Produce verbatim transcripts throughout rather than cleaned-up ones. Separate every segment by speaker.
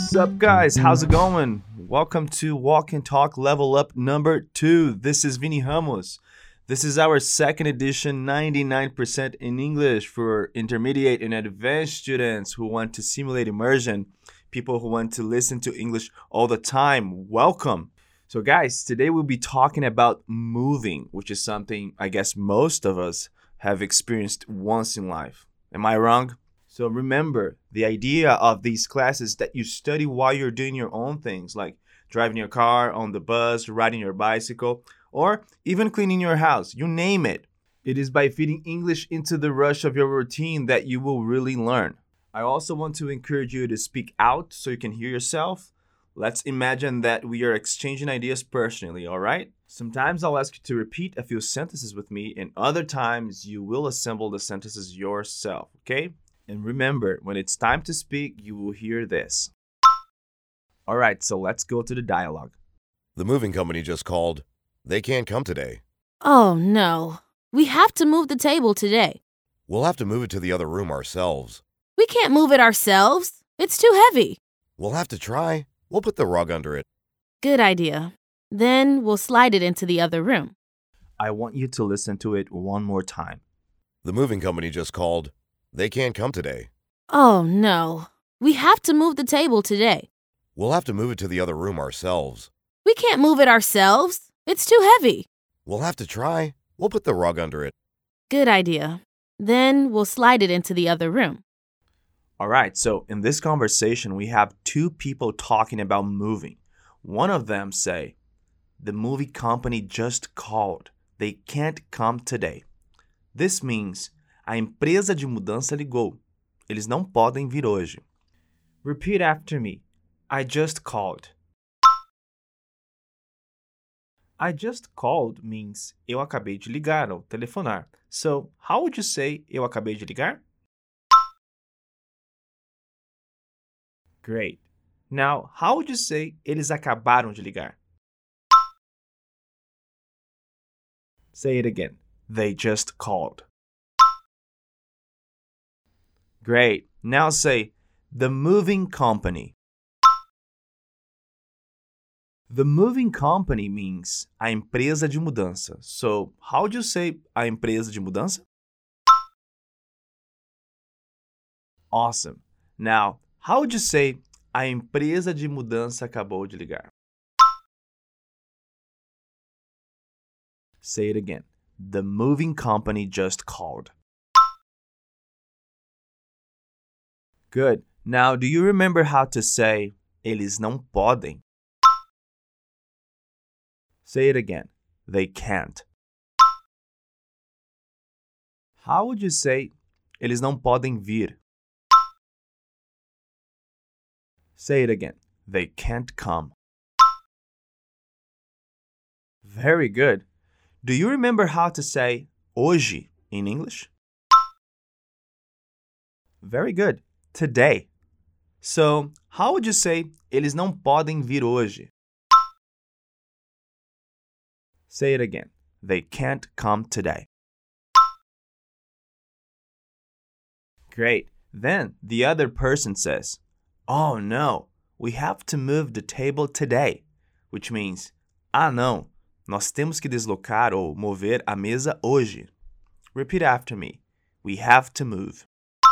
Speaker 1: What's up, guys? How's it going? Welcome to Walk and Talk Level Up number two. This is Vini Ramos. This is our second edition, ninety-nine percent in English for intermediate and advanced students who want to simulate immersion, people who want to listen to English all the time. Welcome. So guys, today we'll be talking about moving, which is something I guess most of us have experienced once in life. Am I wrong? So remember, the idea of these classes that you study while you're doing your own things, like driving your car, on the bus, riding your bicycle, or even cleaning your house, you name it. It is by feeding English into the rush of your routine that you will really learn. I also want to encourage you to speak out so you can hear yourself. Let's imagine that we are exchanging ideas personally, all right? Sometimes I'll ask you to repeat a few sentences with me, and other times you will assemble the sentences yourself, okay? And remember, when it's time to speak, you will hear this. All right, so let's go to the dialogue.
Speaker 2: The moving company just called. They can't come today.
Speaker 3: Oh, no. We have to move the table today.
Speaker 2: We'll have to move it to the other room ourselves.
Speaker 3: We can't move it ourselves. It's too heavy.
Speaker 2: We'll have to try. We'll put the rug under it.
Speaker 3: Good idea. Then we'll slide it into the other room.
Speaker 1: I want you to listen to it one more time.
Speaker 2: The moving company just called. They can't come today.
Speaker 3: Oh, no. We have to move the table today.
Speaker 2: We'll have to move it to the other room ourselves.
Speaker 3: We can't move it ourselves. It's too heavy.
Speaker 2: We'll have to try. We'll put the rug under it.
Speaker 3: Good idea. Then we'll slide it into the other room.
Speaker 1: All right, so in this conversation, we have two people talking about moving. One of them say, the movie company just called. They can't come today. This means, a empresa de mudança ligou. Eles não podem vir hoje. Repeat after me. I just called. I just called means eu acabei de ligar ou telefonar. So, how would you say eu acabei de ligar? Great. Now, how would you say eles acabaram de ligar? Say it again. They just called. Great. Now say, the moving company. The moving company means a empresa de mudança. So, how would you say a empresa de mudança? Awesome. Now, how would you say a empresa de mudança acabou de ligar? Say it again. The moving company just called. Good. Now, do you remember how to say eles não podem? Say it again. They can't. How would you say eles não podem vir? Say it again. They can't come. Very good. Do you remember how to say hoje in English? Very good. Today. So, how would you say eles não podem vir hoje? Say it again. They can't come today. Great. Then the other person says, oh no, we have to move the table today. Which means, ah não, nós temos que deslocar ou mover a mesa hoje. Repeat after me. We have to move.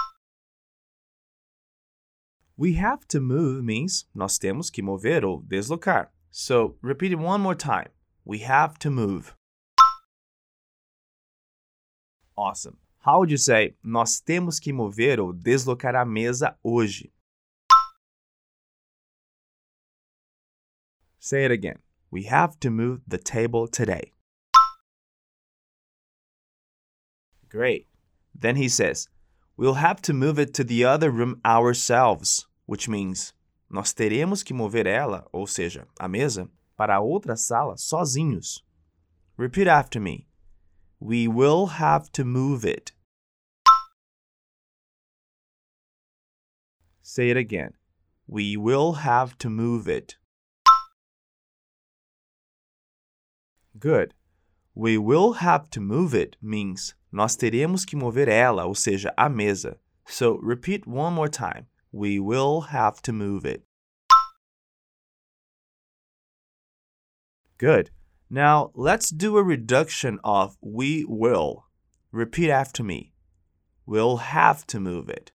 Speaker 1: We have to move means nós temos que mover ou deslocar. So, repeat it one more time. We have to move. Awesome. How would you say nós temos que mover ou deslocar a mesa hoje? Say it again. We have to move the table today. Great. Then he says, we'll have to move it to the other room ourselves, which means nós teremos que mover ela, ou seja, a mesa, para a outra sala sozinhos. Repeat after me. We will have to move it. Say it again. We will have to move it. Good. We will have to move it means nós teremos que mover ela, ou seja, a mesa. So repeat one more time. We will have to move it. Good. Now, let's do a reduction of we will. Repeat after me. We'll have to move it.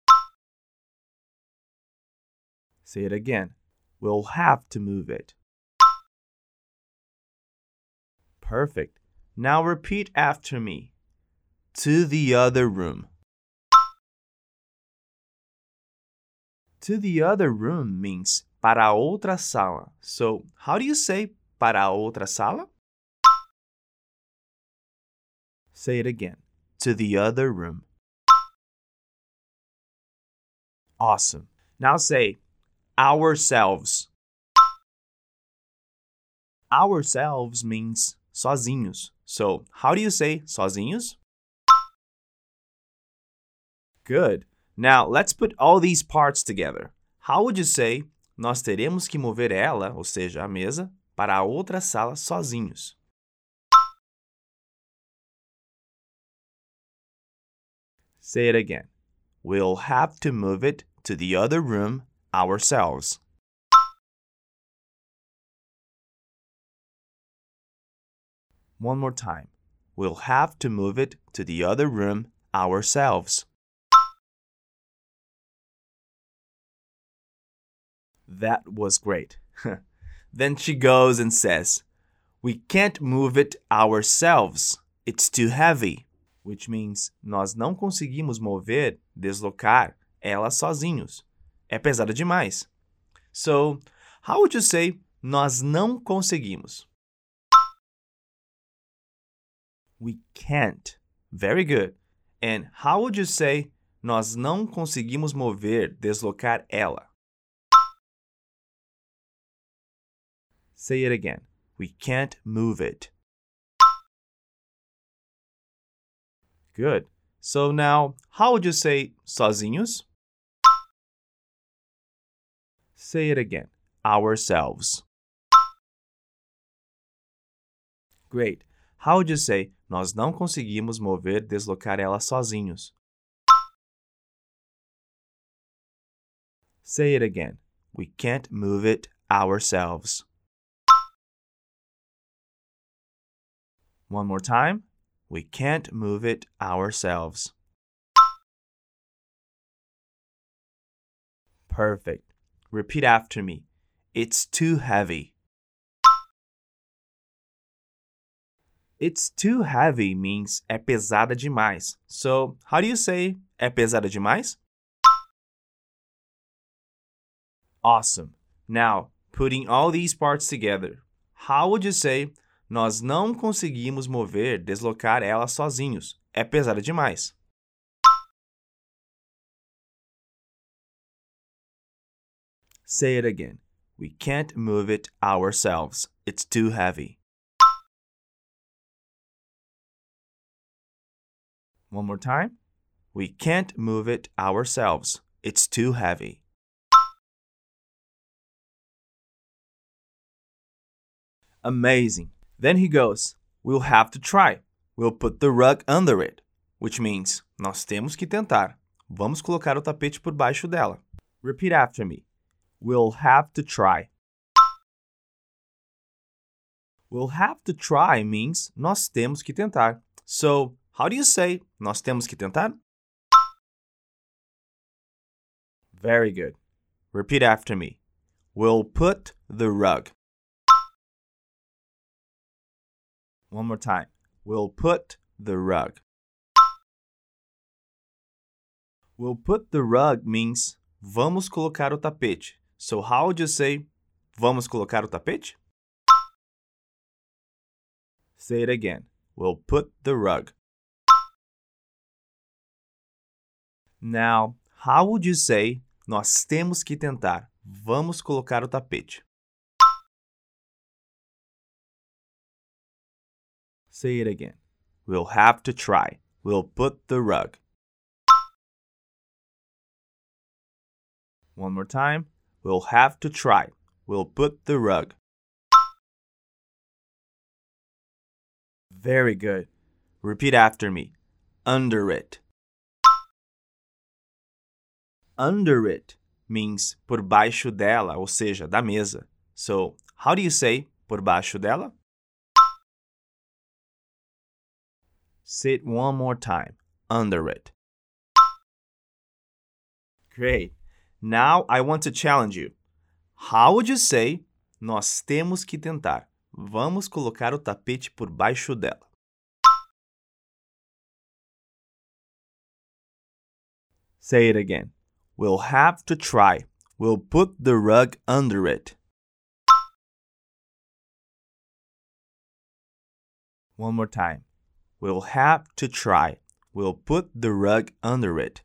Speaker 1: Say it again. We'll have to move it. Perfect. Now repeat after me. To the other room. To the other room means para a outra sala. So, how do you say para a outra sala? Say it again. To the other room. Awesome. Now say ourselves. Ourselves means sozinhos. So, how do you say sozinhos? Good. Now, let's put all these parts together. How would you say nós teremos que mover ela, ou seja, a mesa, para a outra sala sozinhos? Say it again. We'll have to move it to the other room ourselves. One more time. We'll have to move it to the other room ourselves. That was great. Then she goes and says, we can't move it ourselves. It's too heavy. Which means, nós não conseguimos mover, deslocar ela sozinhos. É pesada demais. So, how would you say nós não conseguimos? We can't. Very good. And how would you say nós não conseguimos mover, deslocar ela? Say it again. We can't move it. Good. So now, how would you say sozinhos? Say it again. Ourselves. Great. How would you say nós não conseguimos mover, deslocar ela sozinhos? Say it again. We can't move it ourselves. One more time. We can't move it ourselves. Perfect. Repeat after me. It's too heavy. It's too heavy means é pesada demais. So, how do you say é pesada demais? Awesome. Now, putting all these parts together, how would you say nós não conseguimos mover, deslocar ela sozinhos? É pesada demais. Say it again. We can't move it ourselves. It's too heavy. One more time. We can't move it ourselves. It's too heavy. Amazing. Then he goes, we'll have to try. We'll put the rug under it. Which means, nós temos que tentar. Vamos colocar o tapete por baixo dela. Repeat after me. We'll have to try. We'll have to try means nós temos que tentar. So, how do you say nós temos que tentar? Very good. Repeat after me. We'll put the rug. One more time. We'll put the rug. We'll put the rug means vamos colocar o tapete. So how would you say vamos colocar o tapete? Say it again. We'll put the rug. Now, how would you say nós temos que tentar? Vamos colocar o tapete. Say it again. We'll have to try. We'll put the rug. One more time. We'll have to try. We'll put the rug. Very good. Repeat after me. Under it. Under it means por baixo dela, ou seja, da mesa. So, how do you say por baixo dela. Say it one more time. Under it. Great. Now I want to challenge you. How would you say, nós temos que tentar? Vamos colocar o tapete por baixo dela. Say it again. We'll have to try. We'll put the rug under it. One more time. We'll have to try. We'll put the rug under it.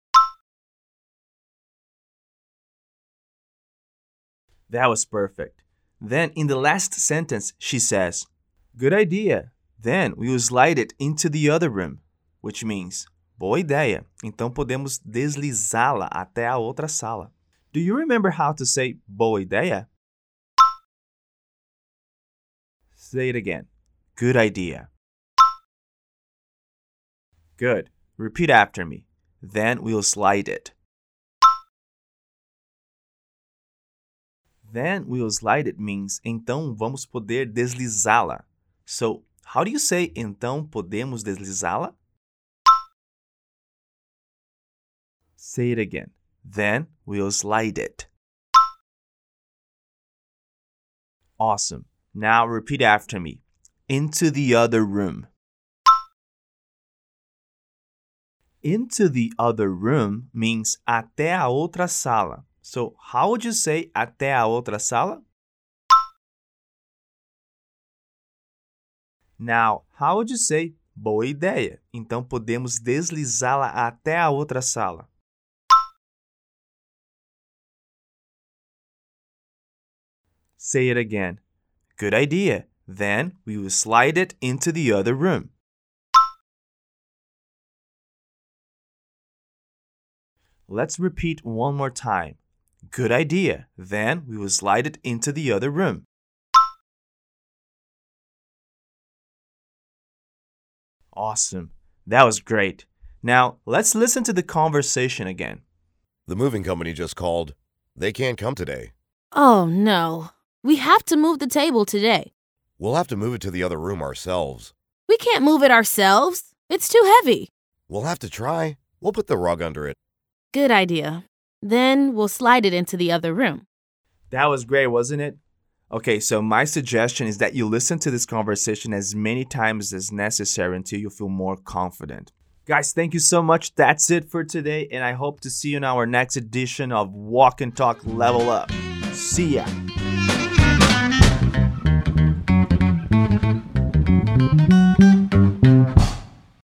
Speaker 1: That was perfect. Then in the last sentence, she says, good idea. Then we'll slide it into the other room, which means, boa ideia. Então podemos deslizá-la até a outra sala. Do you remember how to say boa ideia? Say it again. Good idea. Good. Repeat after me. Then we'll slide it. Then we'll slide it means então vamos poder deslizá-la. So, how do you say então podemos deslizá-la? Say it again. Then we'll slide it. Awesome. Now repeat after me. Into the other room. Into the other room means até a outra sala. So, how would you say até a outra sala? Now, how would you say boa ideia? Então podemos deslizá-la até a outra sala. Say it again. Good idea. Then we will slide it into the other room. Let's repeat one more time. Good idea. Then we will slide it into the other room. Awesome. That was great. Now, let's listen to the conversation again.
Speaker 2: The moving company just called. They can't come today.
Speaker 3: Oh, no. We have to move the table today.
Speaker 2: We'll have to move it to the other room ourselves.
Speaker 3: We can't move it ourselves. It's too heavy.
Speaker 2: We'll have to try. We'll put the rug under it.
Speaker 3: Good idea. Then we'll slide it into the other room.
Speaker 1: That was great, wasn't it? Okay, so my suggestion is that you listen to this conversation as many times as necessary until you feel more confident. Guys, thank you so much. That's it for today, and I hope to see you in our next edition of Walk and Talk Level Up. See ya.